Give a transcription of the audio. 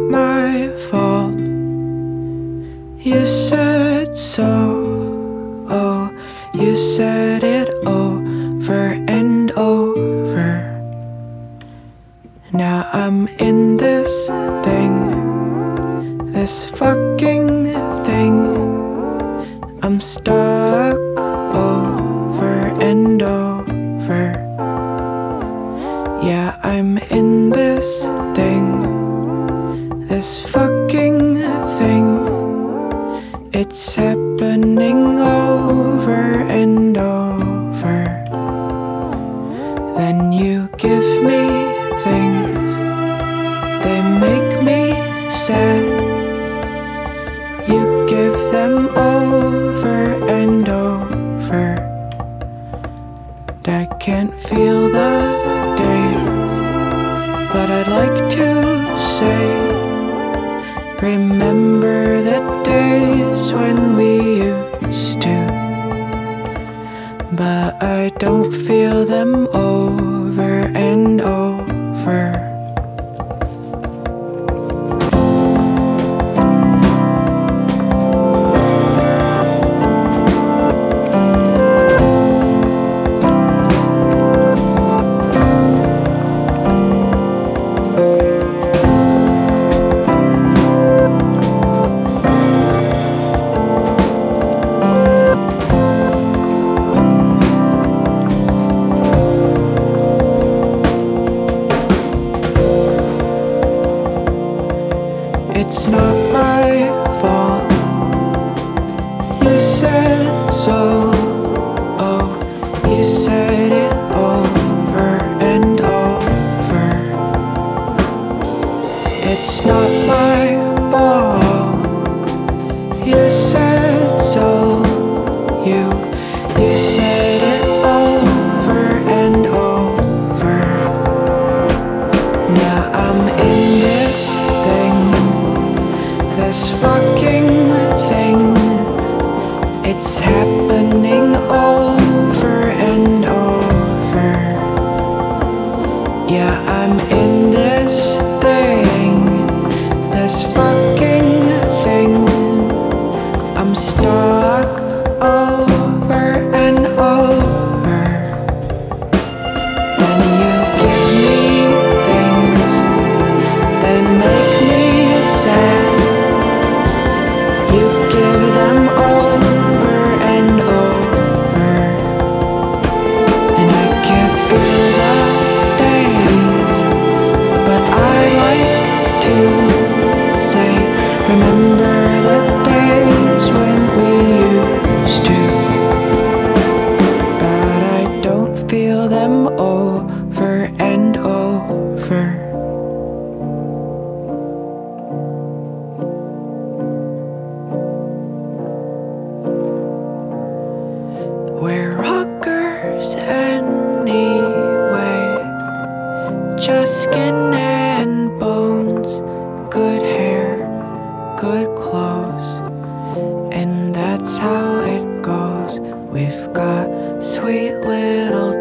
my fault. You said so. Oh, you said it over and over. Now I'm in this thing, this fucking thing. I'm stuck over and over. Yeah, I'm in this thing, this fucking thing. It's happening over and over. Then you give me things, they make me sad. You give them over and over. I can't feel the days, but I'd like to say, remember the days when we used to. But I don't feel them over and over. It's not my fault. You said so. Oh, you said it over and over. It's not my fault. You said so. You said it over and over. Now I'm in this thing, this fucking thing. It's happening over and over. Yeah, I'm in this thing, this fucking thing. I'm stuck over and over. Then you give me things, they make me sad. You give them over and over, and I can't feel the days, but I like to say, remember the days when we used to. But I don't feel them over and over. We're rockers anyway, just skin and bones, good hair, good clothes, and that's how it goes. We've got sweet little